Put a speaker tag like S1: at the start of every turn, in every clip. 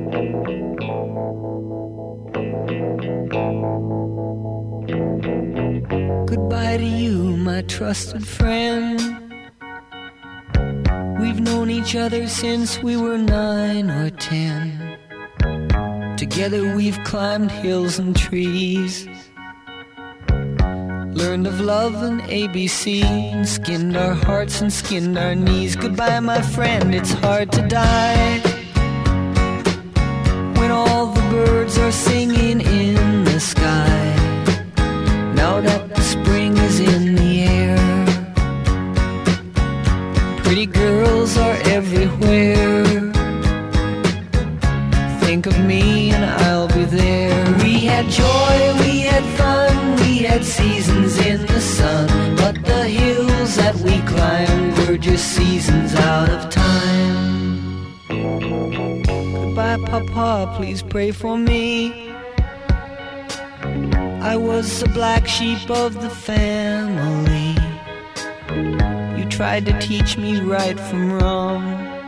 S1: Goodbye to you, my trusted friend. We've known each other since we were 9 or 10. Together we've climbed hills and trees, learned of love and ABC, and skinned our hearts and skinned our knees. Goodbye, my friend, it's hard to die when all the birds are singing in the sky. Now that the spring is in the air, pretty girls are everywhere. Think of me and I'll be there. We had joy, we had fun, we had seasons in the sun, but the hills that we climbed were just seasons out of time. Goodbye, Papa, please pray for me. I was the black sheep of the family. You tried to teach me right from wrong.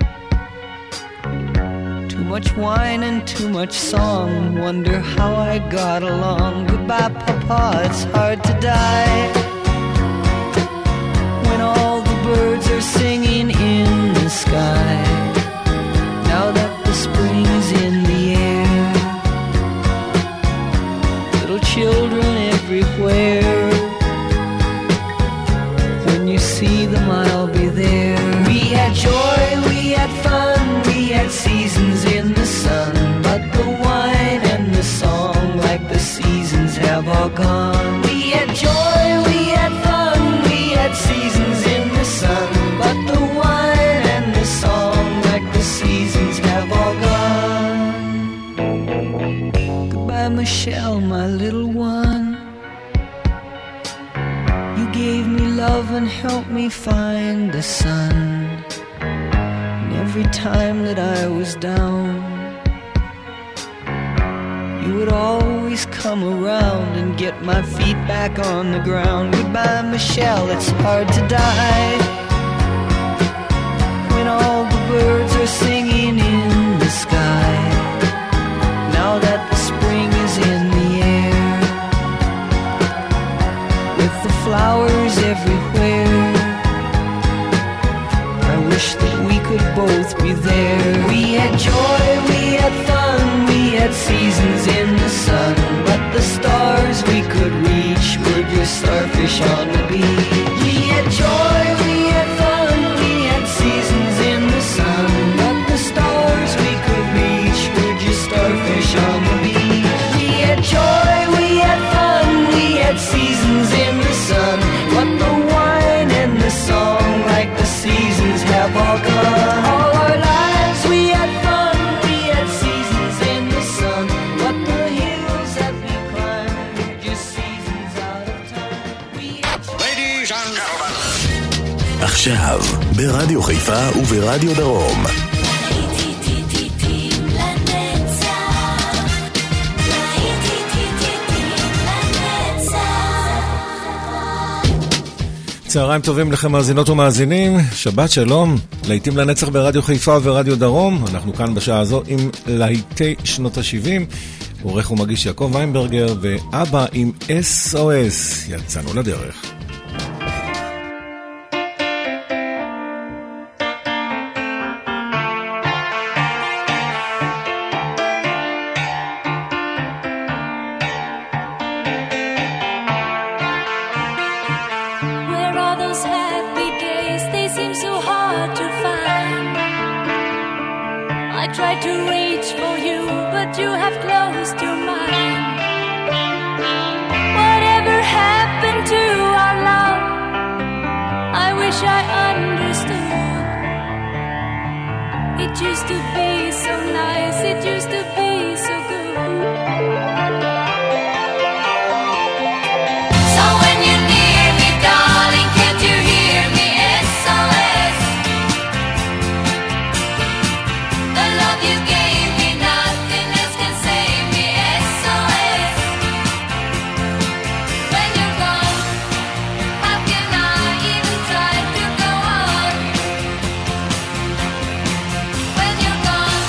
S1: Too much wine and too much song, wonder how I got along. Goodbye, Papa, it's hard to die when all the birds are singing in the sky. Now that the spring is in the air, little children everywhere. When you see them, I'll be there. We had joy, we had fun, we had seasons in the sun, but the wine and the song, like the seasons, have all gone. We had joy, we had fun, we had seasons in the sun, but the wine and the song, like the seasons, have all gone. Goodbye, Michelle, my little one. You gave me love and helped me find the sun. Every time that I was down, you would always come around and get my feet back on the ground. Goodbye, Michelle, it's hard to die when all the birds are singing in the sky. Now that the spring is in the air, with the flowers everywhere, I wish that we could both be there. We had joy, we had fun, we had seasons in the sun, but the stars we could reach were just starfish on the beach. We had joy, we had fun, we had seasons in the sun, but the stars we could reach were just starfish on the beach. We had joy, we had fun, we had seasons in the sun, but the wine and the song, like the seasons, have all gone. All our lives we had fun, we had seasons in the sun, but the hills that we climbed were just seasons out of time. We had... Ladies and gentlemen.
S2: עכשיו, ברדיו חיפה וברדיו דרום.
S3: צהריים טובים לכם מאזינות ומאזינים, שבת שלום, להיטים לנצח ברדיו חיפה ורדיו דרום. אנחנו כאן בשעה הזו עם להיטי שנות ה-70, עורך ומגיש יעקב ויינברגר, ואבא עם SOS. יצאנו לדרך.
S4: When you're gone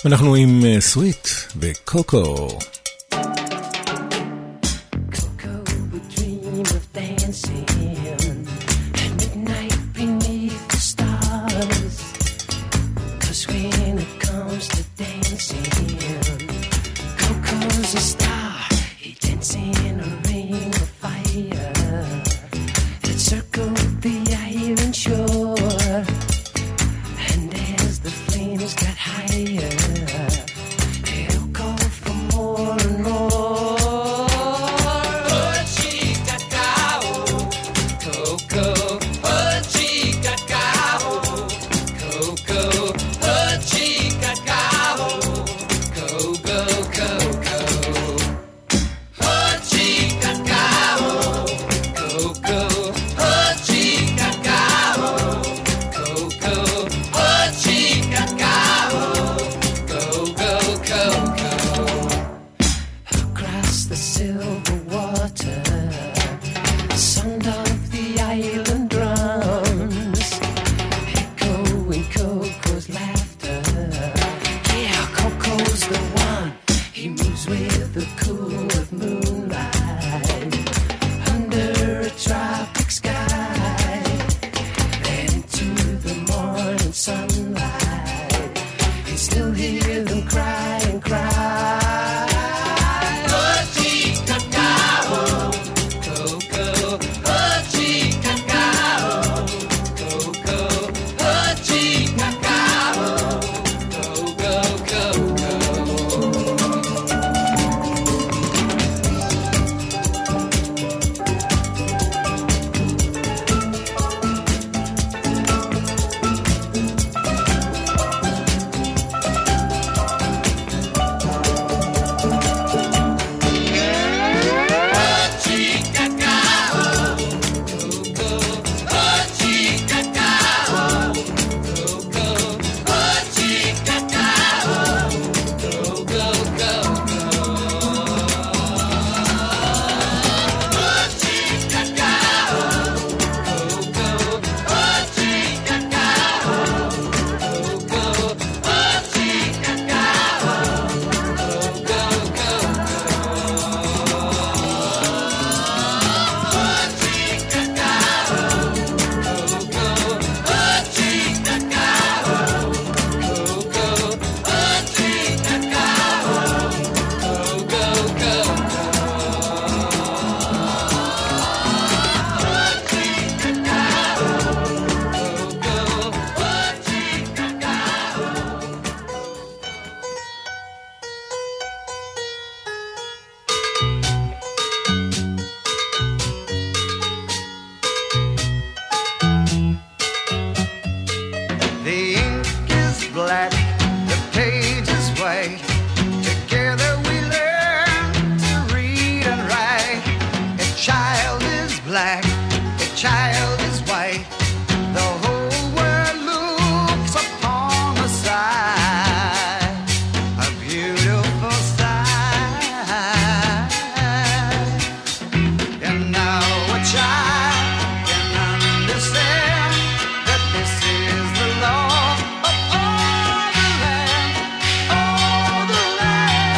S3: אנחנו עם סוויט וקוקו.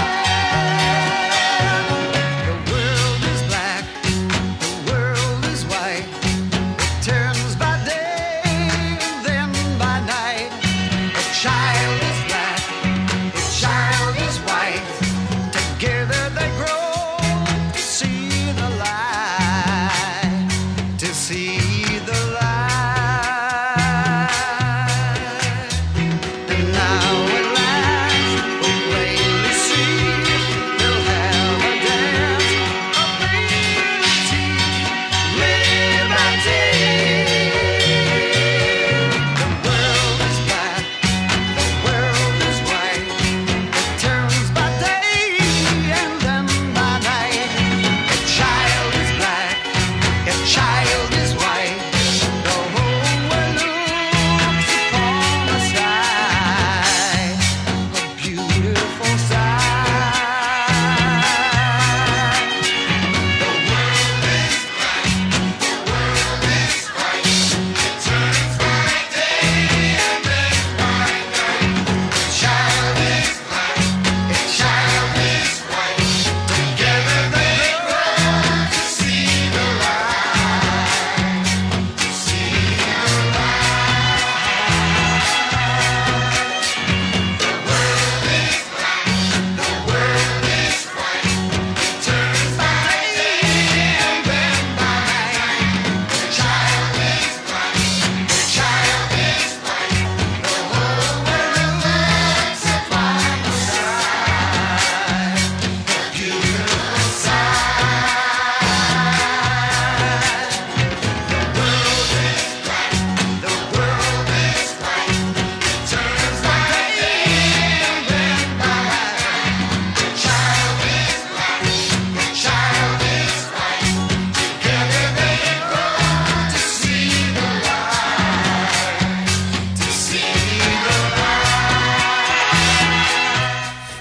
S4: World is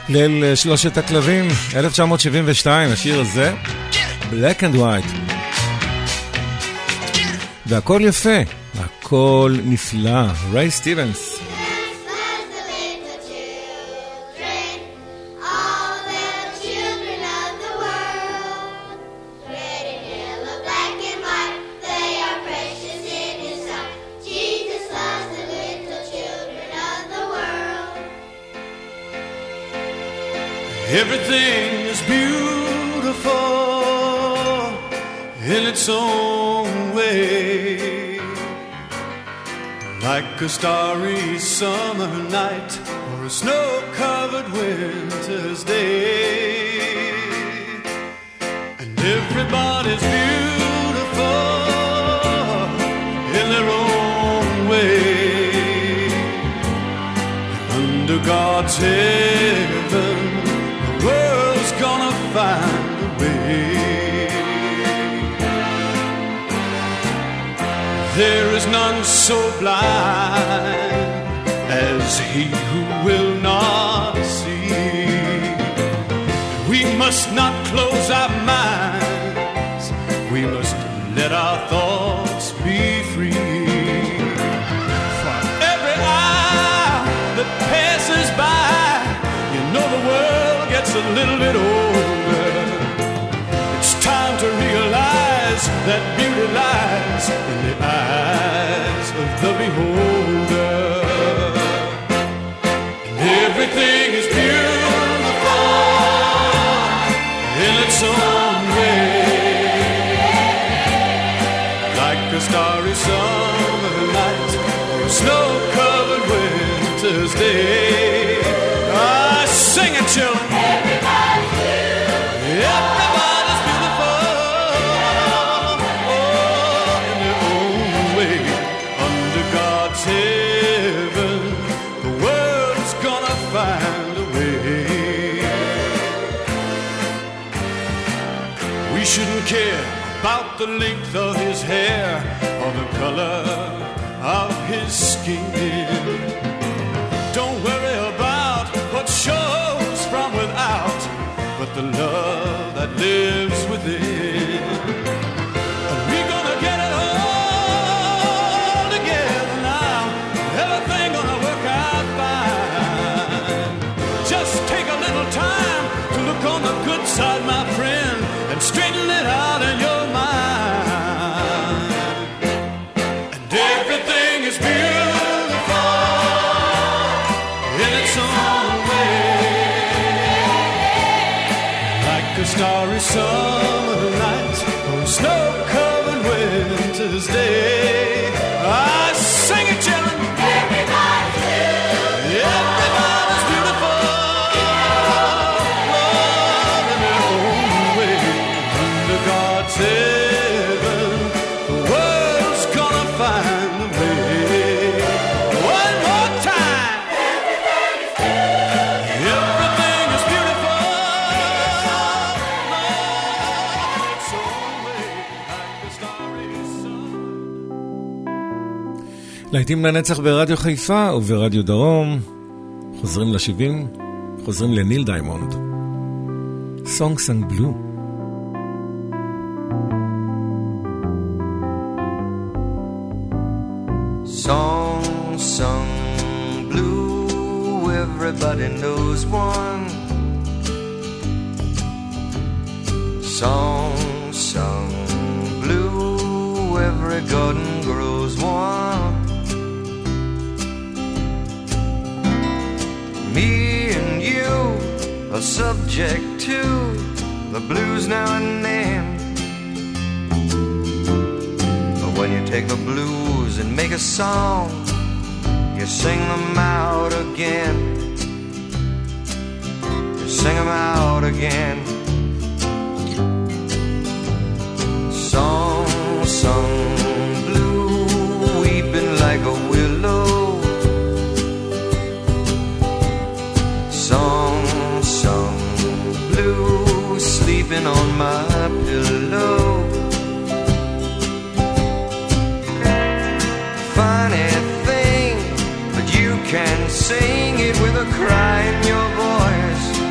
S3: ליל שלושת הכלבים, 1972, השיר הזה, Black and White. והכל יפה, הכל נפלא, ריי סטיבנס.
S4: Everything is beautiful in its own way, like a starry summer night or a snow-covered winter's day. And everybody's beautiful in their own way. And under God's heaven, world's gonna find a way. There is none so blind as he who will not see. We must not close our minds, we must let our thoughts be free. For every hour that passes by, you know the world gets a little bit older. It's time to realize that beauty lies in the eyes of the beholder. And everything is beautiful in its own way, like a starry summer night or a snow-covered winter's day. Sing it, children. Everybody's beautiful. Everybody's beautiful. Oh, in their own way. Under God's heaven, the world's gonna find a way. We shouldn't care about the length of his hair or the color of his skin. Don't worry about what shows from without, but the love that lives within. And we're gonna get it all together now. Everything gonna work out fine. Just take a little time to look on the good side, my friend, and straighten it out in your mind. And everything is beautiful in its own way, like a starry summer night or a snow-covered winter's day. I sing it, children. Everybody's beautiful. Everybody's beautiful. Love in their own way. Under God's heaven, the world's gonna find a way. One more time. Everything is beautiful. It's always like the starry sun.
S3: להיטים לנצח ברדיו חיפה וברדיו דרום. חוזרים ל-70, חוזרים לניל דיימונד. Song Sung Blue.
S5: Song sung blue, everybody knows one. Song sung blue, every garden grows one. Me and you are subject to the blues now and then. But when you take the blues and make a song, you sing them out again. You sing them out again. Song sung blue, weeping like a willow. Song sung blue, sleeping on my pillow. Funny thing, but you can sing it with a cry in your voice.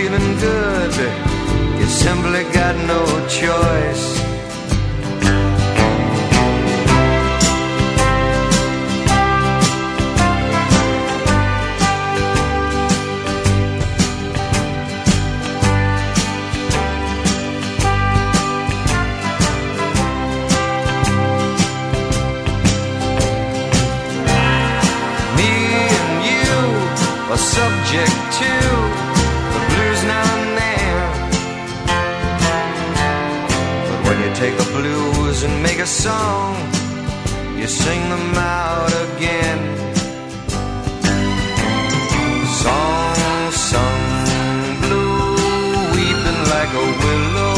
S5: feeling good, you simply got no choice.
S1: Subject to the blues now and then. But when you take the blues and make a song, you sing them out again. Song sung blue, weeping like a willow.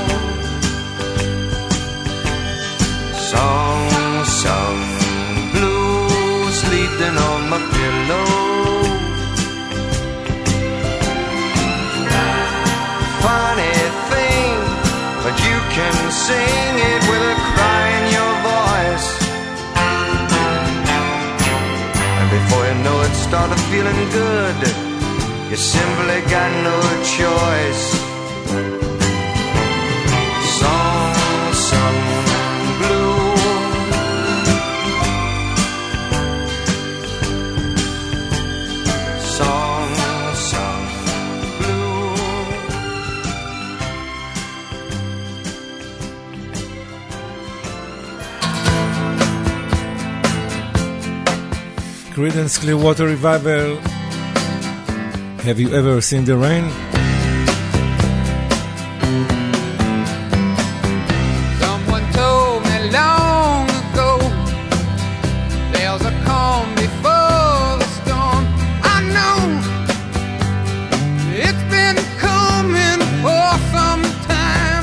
S1: Song sung blue, sleeping on my pillow. Funny thing, but you can sing it with a cry in your voice. And before you know it, started feeling good. You simply got no choice. Song sung blue. Song sung blue.
S3: Creedence Clearwater Revival. Have you ever seen the rain?
S6: Someone told me long ago there's a calm before the storm. I know it's been coming for some time.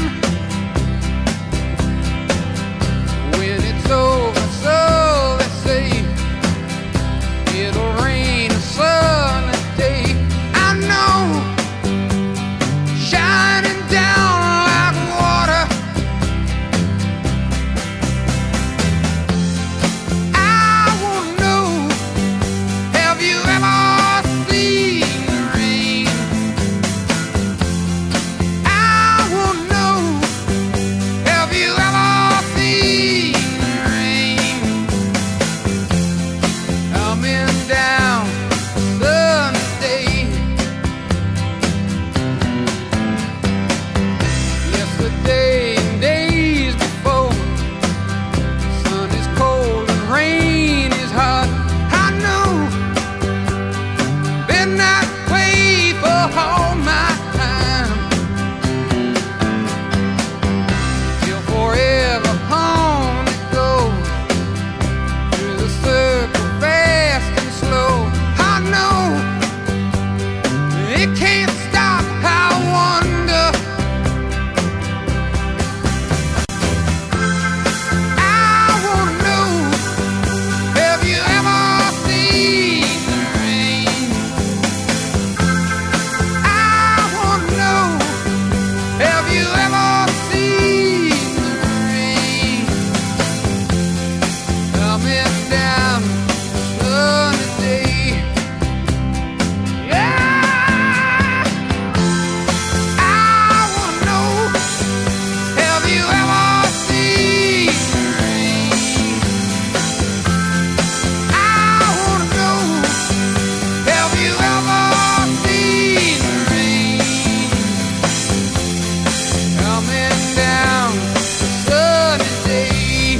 S6: When it's over, so they say, it'll rain a sunny day. I know, shining down like water. I wanna know, have you ever seen the rain? I wanna know, have you ever seen the rain? Coming down Sunday. Yesterday and days before, sun is cold and rain is hot. I know, been that way for all my time. Till forever on it goes, through the circle fast and slow. I know, it can't stop. I wonder, I wanna know, have you ever seen the rain? I wanna know, have you ever seen the rain? Coming down sunny day. Yeah, I wanna know, have you ever seen the rain? I wanna know, have you ever seen the rain? Coming down sunny day.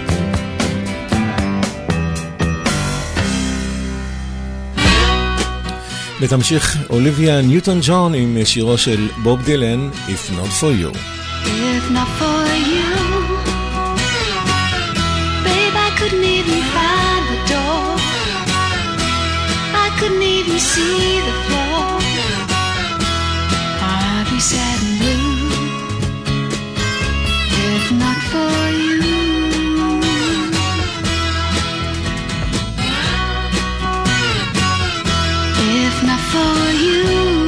S3: ותמשיך אוליביה ניוטון ג'ון עם שירו של בוב דילן, If Not For You.
S7: If not for you, babe, I couldn't even find the door. I couldn't even see the floor. I'd be sad and blue if not for you. If not for you,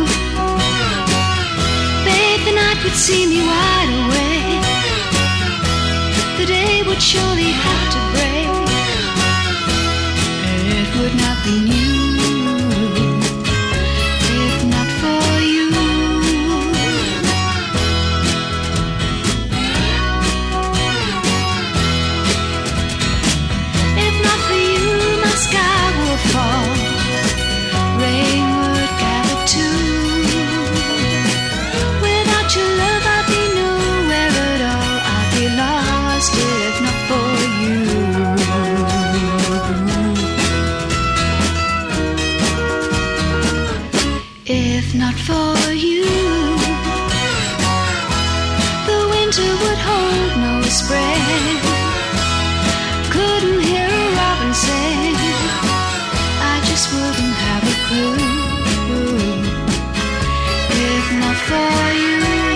S7: babe, the night would see me wide awake. The day would surely have to break. It would not be new if not for you. winter would hold no spring. Couldn't hear a robin sing. I just wouldn't have a clue if not for you.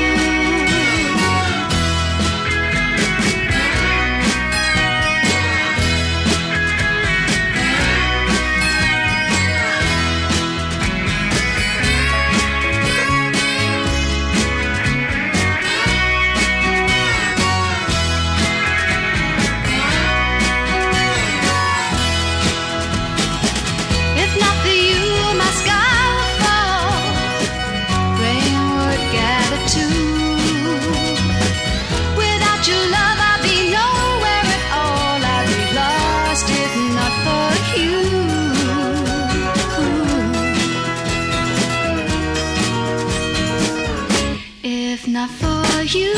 S7: Not for you,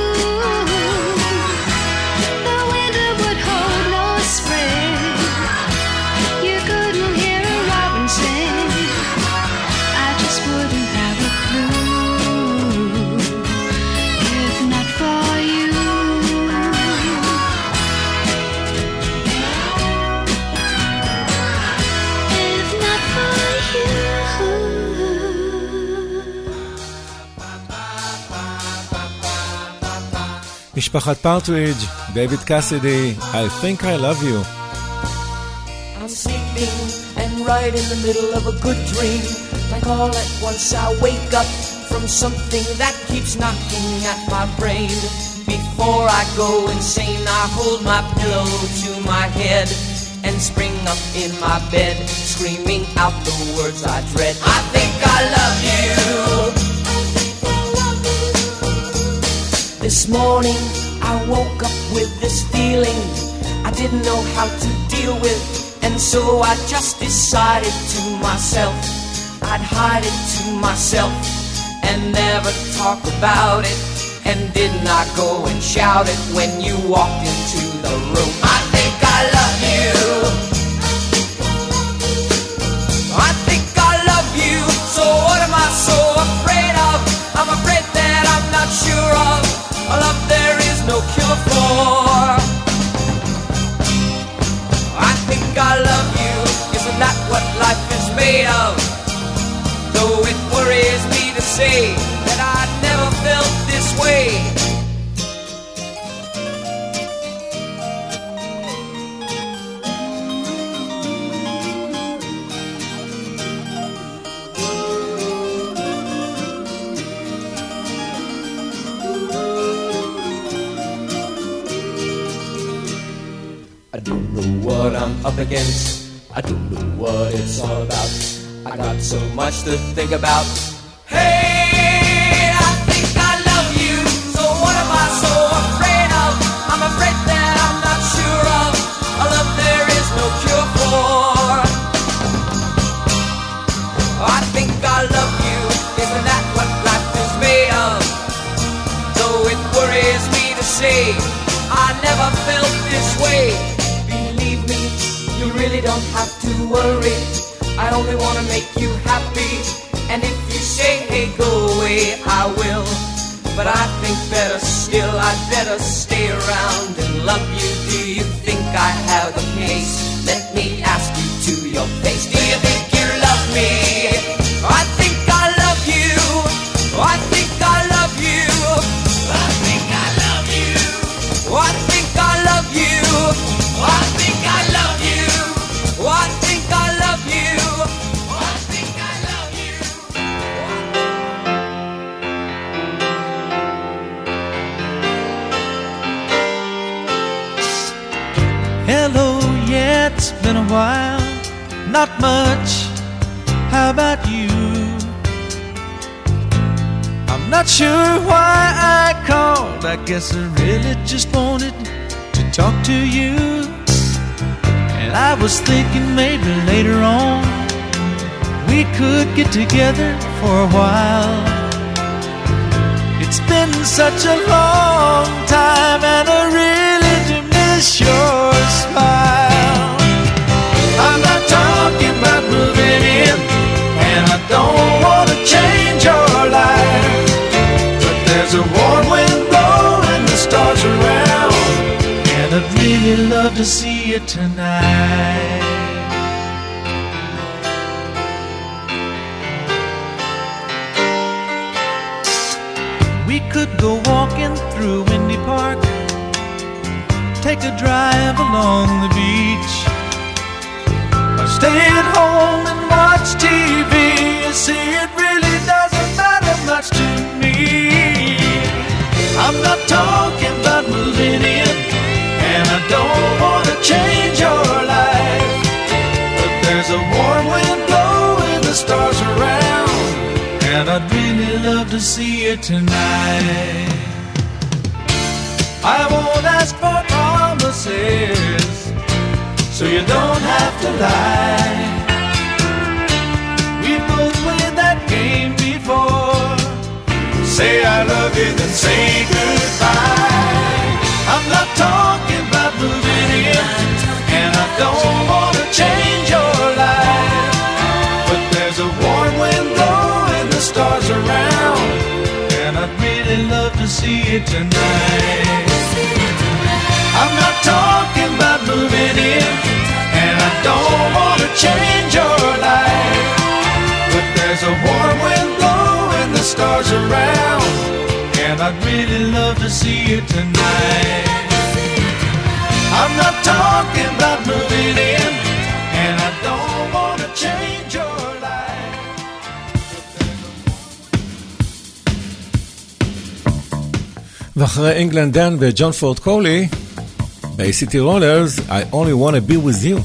S7: the winter would hold no spring. You couldn't hear a robin sing. I just wouldn't have a clue if not for you. If not for you.
S3: משפחת פרטרידג', דייוויד קאסידי, I think I love you.
S8: I'm sleeping and right in the middle of a good dream, like all at once I wake up from something that keeps knocking at my brain. Before I go insane, I hold my pillow to my head and spring up in my bed, screaming out the words I dread. I think I love you. This morning I woke up with this feeling I didn't know how to deal with, and so I just decided to myself I'd hide it to myself and never talk about it, and did not go and shout it when you walked into the room. I think I love you. I think I love you. So what am I so afraid of? I'm afraid that I'm not sure of a love there is no cure for. I think I love you. Isn't that what life is made of? Though it worries me to say that I never felt this way. I don't know what I'm up against. I don't know what it's all about. I got so much to think about. Hey, I think I love you. So what am I so afraid of? I'm afraid that I'm not sure of a love there is no cure for. I think I love you. Isn't that what life is made of? Though it worries me to say I never felt this way. You really don't have to worry. I only want to make you happy. And if you say, hey, go away, I will. But I think better still, I'd better stay around and love you. Do you think I have the case? Let me ask you to your face. Do you think you love me? I think I love you. I think I love you. I think I love you. I think I love you. I think I love you. I think I love you. I think I love you.
S9: Hello, yeah, it's been a while. Not much. How about you? I'm not sure why I called. I guess I really just wanted to talk to you. And I was thinking maybe later on we could get together for a while. It's been such a long time and I really do miss your smile. I'm not talking about moving in, and I don't want to change your life, but there's a warm wind blowing love to see you tonight. We could go walking through Windy Park, take a drive along the beach, or stay at home and watch TV. You see, it really doesn't matter much to me. I'm not talking about moving in, and I don't want to change your life, but there's a warm wind blowing the stars around, and I'd really love to see you tonight. I won't ask for promises, so you don't have to lie. We both played that game before. Say I love you, then say goodbye. I'm not talking about moving in, and I don't want to change your life, but there's a warm wind blowing the stars around, and I'd really love to see you tonight. I'm not talking about moving in, and I don't want to change your life, but there's a warm wind blowing the stars around, and I'd really love to see you tonight. I'm not talking about moving in, and I don't want to change your life.
S3: ואחרי אינגלנד דן וג'ון פורד קולי, ב-ACT Rollers, I only want to be with you.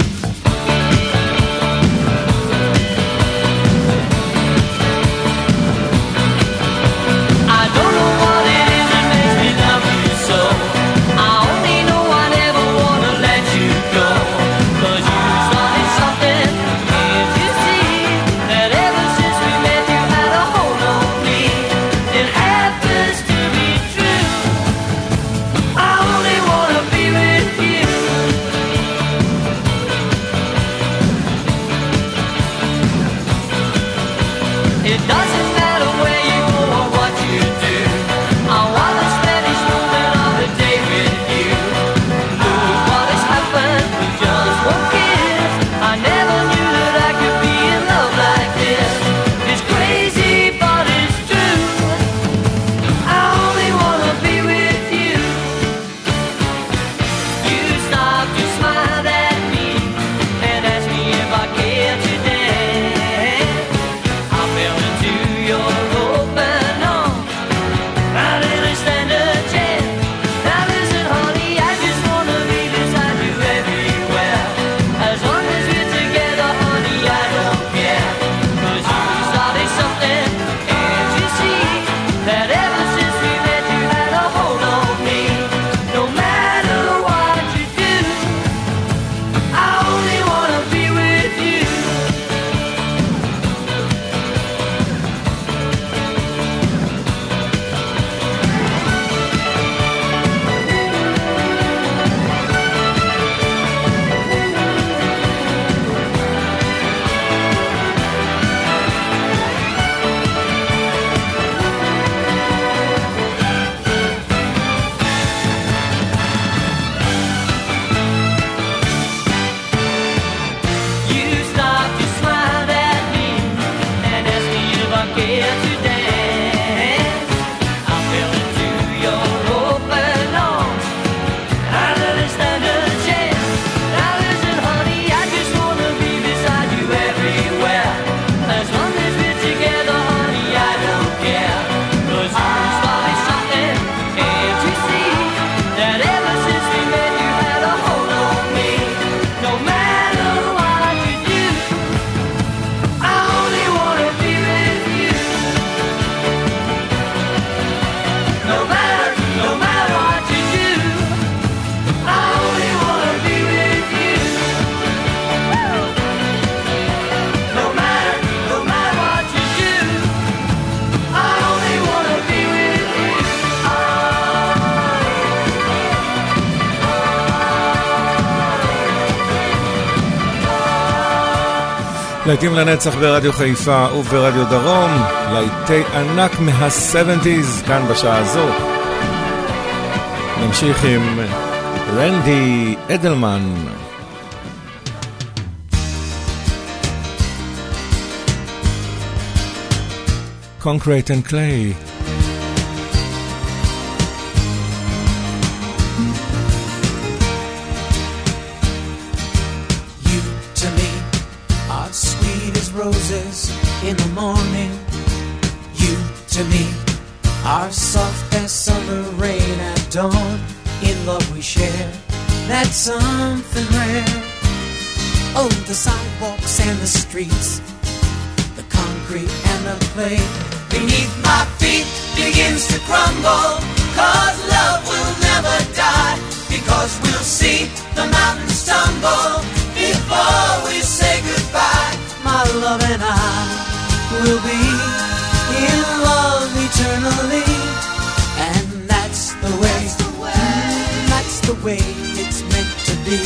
S3: להיטים לנצח ברדיו חיפה וברדיו דרום, להיטי ענק מה-70s כאן בשעה הזו. נמשיך עם רנדי אדלמן. Concrete and Clay.
S10: You to me are sweet as roses in the morning. You to me are soft as summer rain at dawn. In love we share, that's something rare. Oh, the sidewalks and the streets, the concrete and the clay beneath my feet begins to crumble. 'Cause love will never die, because we'll see the mountains tumble before we say goodbye. My love and I will be in love eternally, and that's the way, that's the way it's meant to be.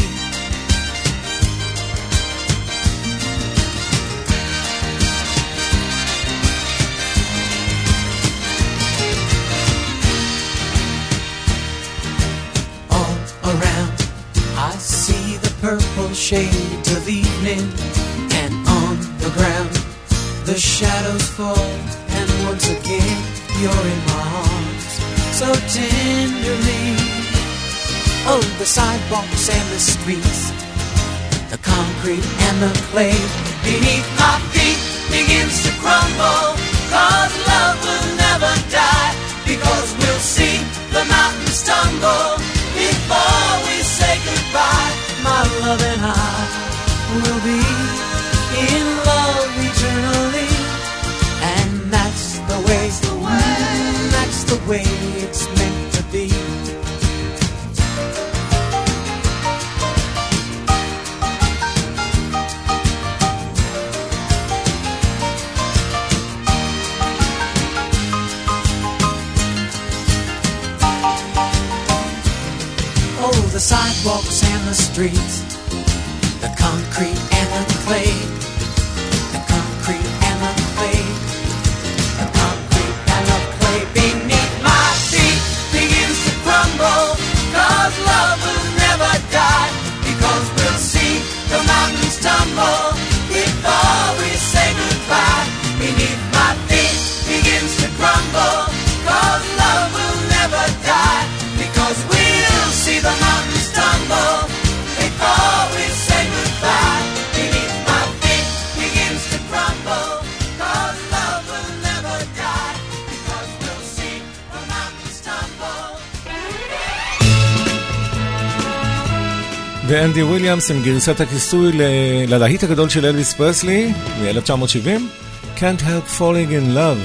S10: Purple shades of evening, and on the ground the shadows fall, and once again you're in my arms so tenderly. Oh, the sidewalks and the streets, the concrete and the clay beneath my feet begins to crumble. 'Cause love will never die, because we'll see the mountains tumble before we say goodbye. My love and I will be in love eternally, and that's the way, that's the way it's meant to be. Oh, the sidewalks and the streets, the concrete and the clay, the concrete and the clay, the concrete and the clay beneath my feet begins to crumble. 'Cause love will never die, because we'll see the mountains tumble before we say goodbye. Beneath my feet begins to crumble. 'Cause love will never die, because we'll see the mountains tumble before we say goodbye. Beneath my feet begins to crumble. 'Cause love will never die, because we'll see the mountains tumble.
S3: ואנדי וויליאמס עם גרסת הכיסוי ללהיט הגדול של אלוויס פרסלי מ-1970, Can't Help Falling in Love.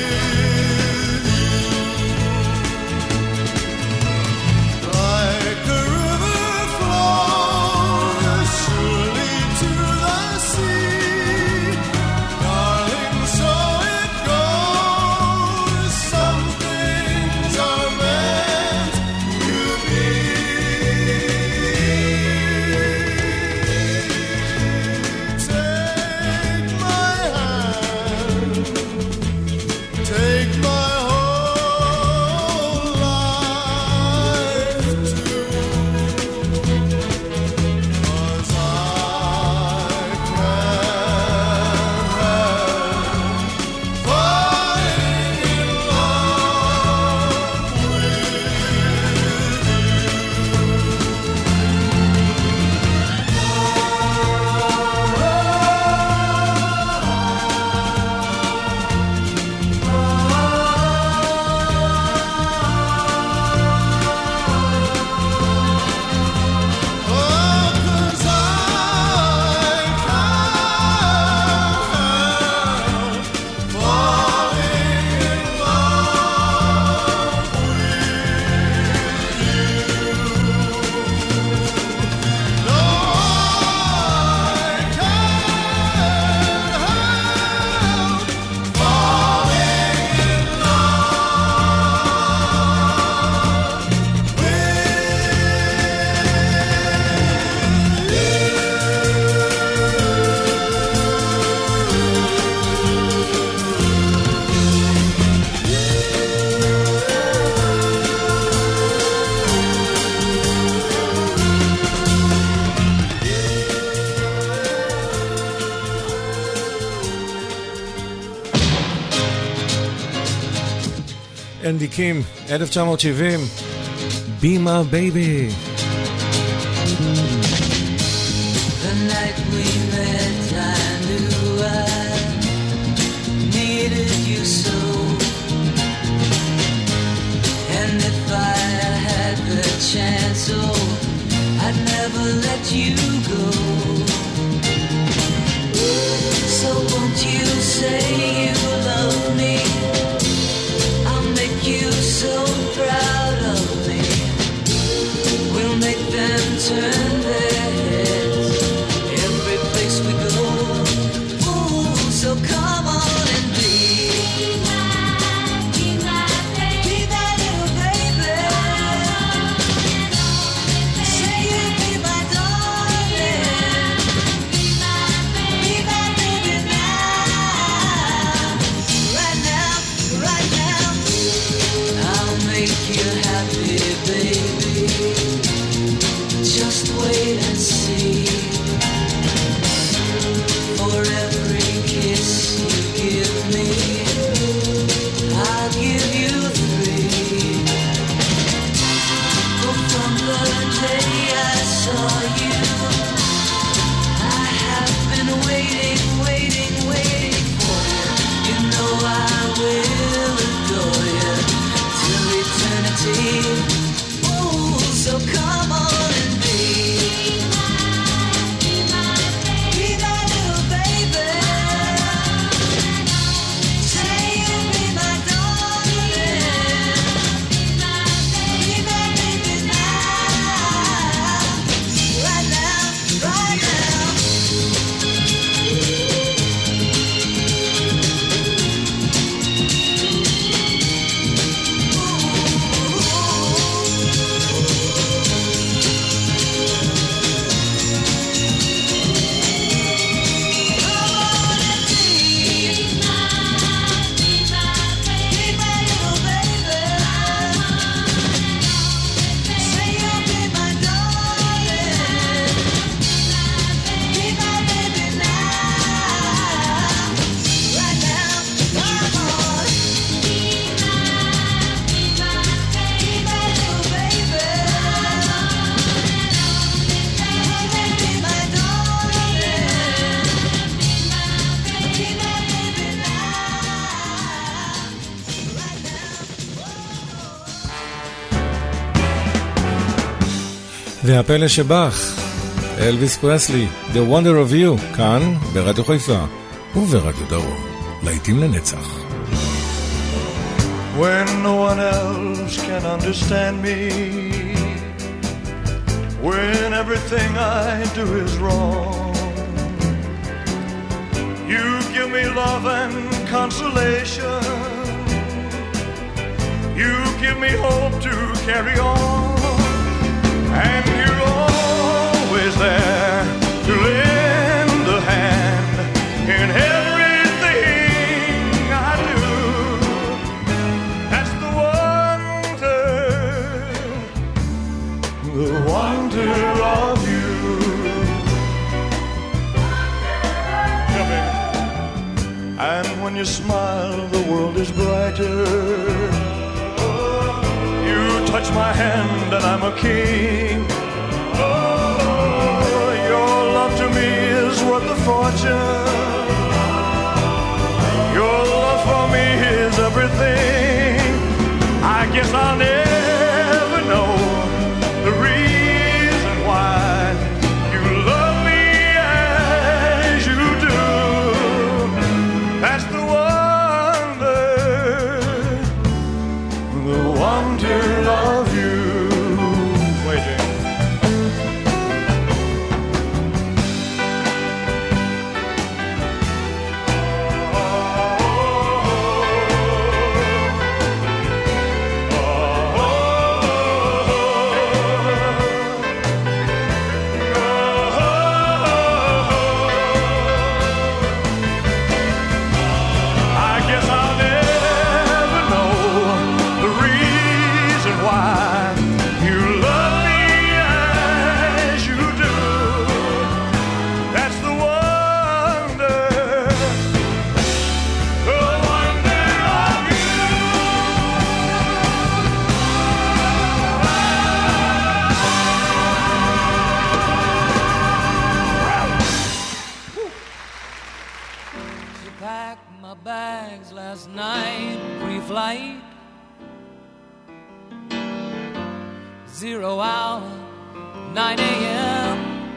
S4: Like
S3: אנדי קים, 1970, Be My Baby.
S1: The night we met, I knew I needed you so. And if I had the chance, oh, I'd never let you go. So won't you say you love me? I'll make you so proud of me. We'll make them turn their heads every place we go. Ooh, so come on and be my baby. Be that little baby. Say you'll be my darling. Be my baby now. Right now, right now. I'll make you happy, baby. Just wait and see. For every kiss you give me, I'll give you 3. Oh, from the day I saw you, I have been waiting, waiting, waiting for you. You know I will adore you till eternity. Oh, so come on and be that little baby. Say you'll be my darling. Be my baby now. Right now, right now.
S3: והפלא שבך, אלוויס פרסלי, The Wonder of You, כאן ברדיו חיפה וברדיו דרום, להיטים לנצח.
S11: When no one else can understand me, when everything I do is wrong, you give me love and consolation, you give me hope to carry on. And you're always there to lend a hand in everything I do. That's the wonder of you. And when you smile, the world is brighter. Touch my hand and I'm a king. Oh, your love to me is worth a fortune. Your love for me is everything. I guess I'll never know the reason why you love me as you do. That's the wonder of you. Waiting. I guess I'll never know the reason
S6: 0 hour, 9 a.m.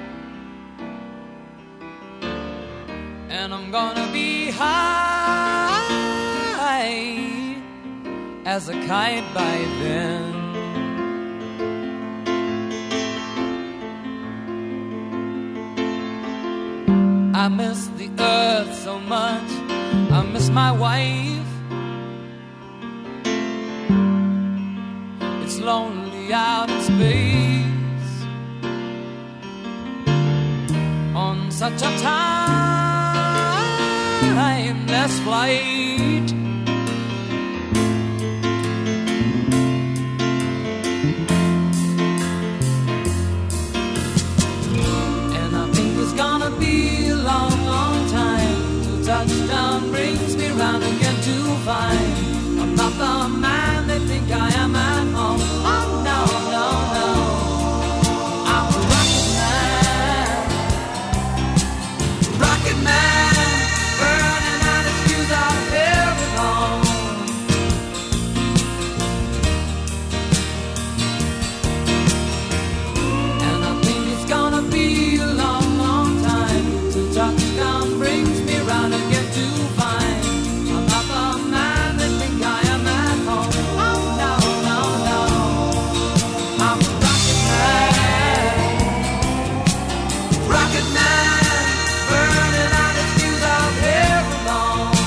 S6: And I'm gonna be high as a kite by then. I miss the earth so much, I miss my wife. It's lonely out in space on such a timeless flight. And I think it's gonna be a long, long time till touchdown brings me round again to find I'm not the man they think I am at home. Oh no, no, no, I'm a rocket man, rocket man, burning out his fuse out here alone. And I think it's gonna be a long, long time till touchdown brings me round again to find I'm not the man they think I am at home. Oh no, no, no, I'm a rocket man, burning out his fuse out here alone.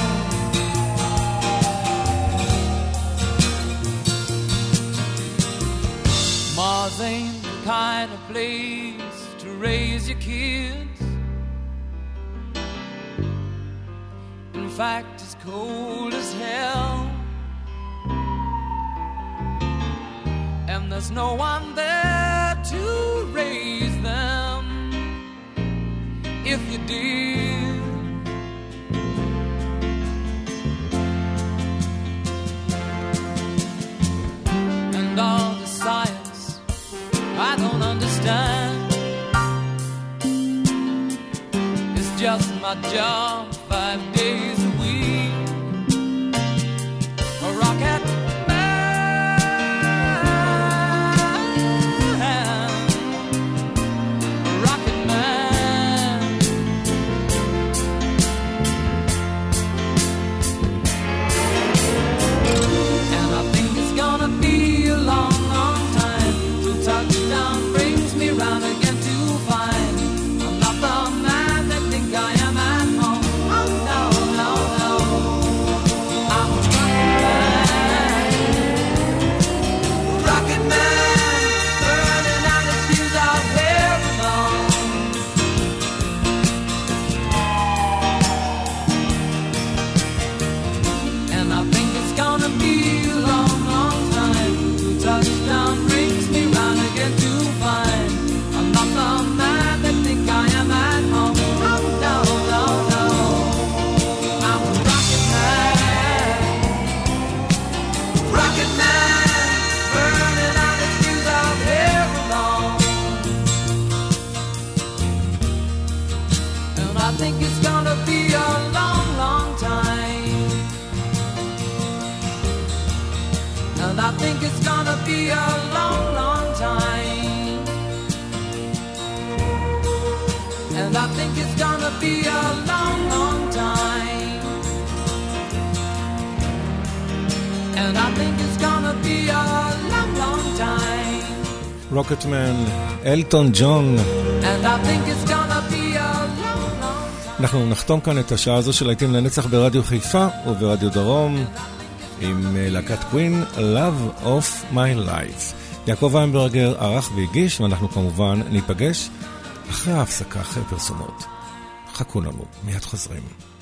S6: Mars ain't the kind of place to raise your kids. In fact, it's cold as hell, and there's no one there to raise them if you did. And all the science I don't understand, it's just my job 5 days a week. A rocket man, a rocket man. And I think it's gonna be a long, long time till touchdown brings me round again to find I'm not the man that think I am at home. Oh no, no, no, I'm a rocket man, burning out his fuse out here alone. And I think it's gonna be a long, long time till touchdown brings me round again to find I'm not the man that think I am at home. Oh no, no, no, I'm a rocket man, burning out his fuse out here alone. And I think it's gonna be a long, long time. And I think it's gonna be a long, long time. And I think it's gonna be a long, long time. And I think it's gonna be a long, long time.
S3: רוקטמן, אלטון ג'ון.
S6: And I think it's gonna be a long, long time.
S3: אנחנו נחתום כאן את השעה הזו של להיטים לנצח ברדיו חיפה וברדיו דרום עם להקת קווין, Love of My Life. יעקב ויינברגר ערך והגיש, ואנחנו כמובן ניפגש אחרי ההפסקה, אחרי פרסומות. חכו לנו, מיד חוזרים.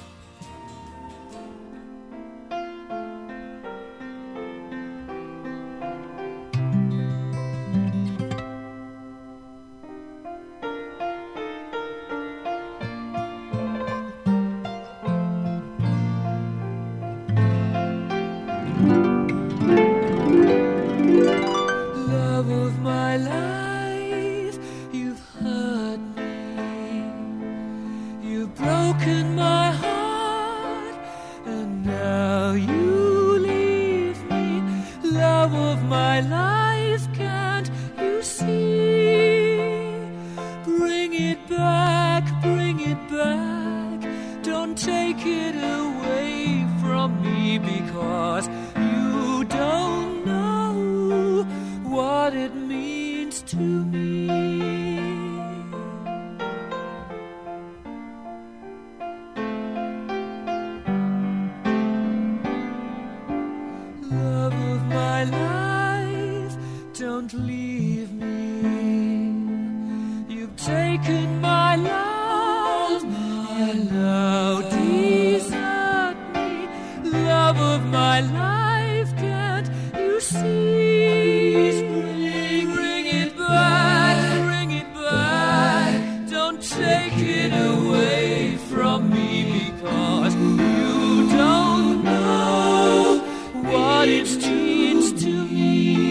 S1: Love of my life, you've hurt me. You've broken my heart, and now you leave me. Love of my life,
S6: life, can't you see? Bring it back, don't take it away from me, because you don't know what it means to me. Love of my life, don't leave me. You've taken my love, and now desert me. Love of my life, can't you see? Bring it back, don't take it away from me, because you don't know what it means to me.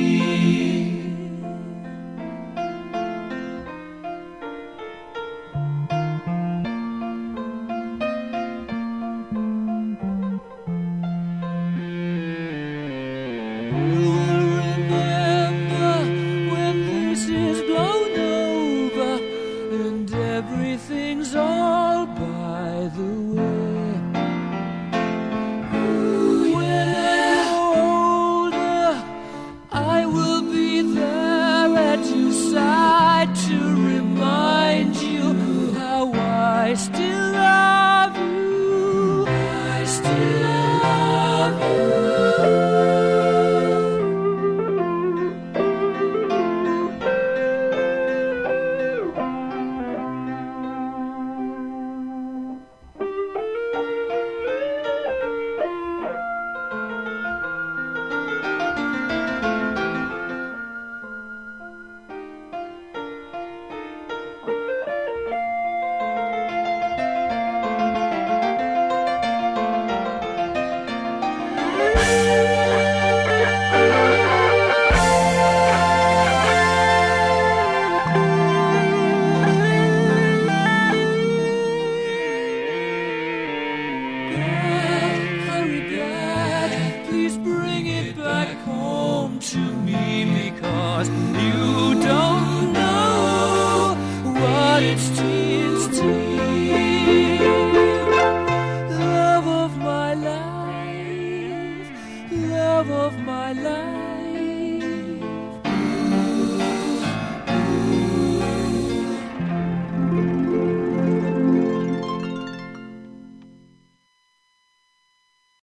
S6: Remember when this is blown over and everything's all by the way. When I'm older, I will be there at your side to remind you how I still love you. I still love you. Hurry back, please bring it back home to me, because you don't know what it means to me. Love of my life, love of my life.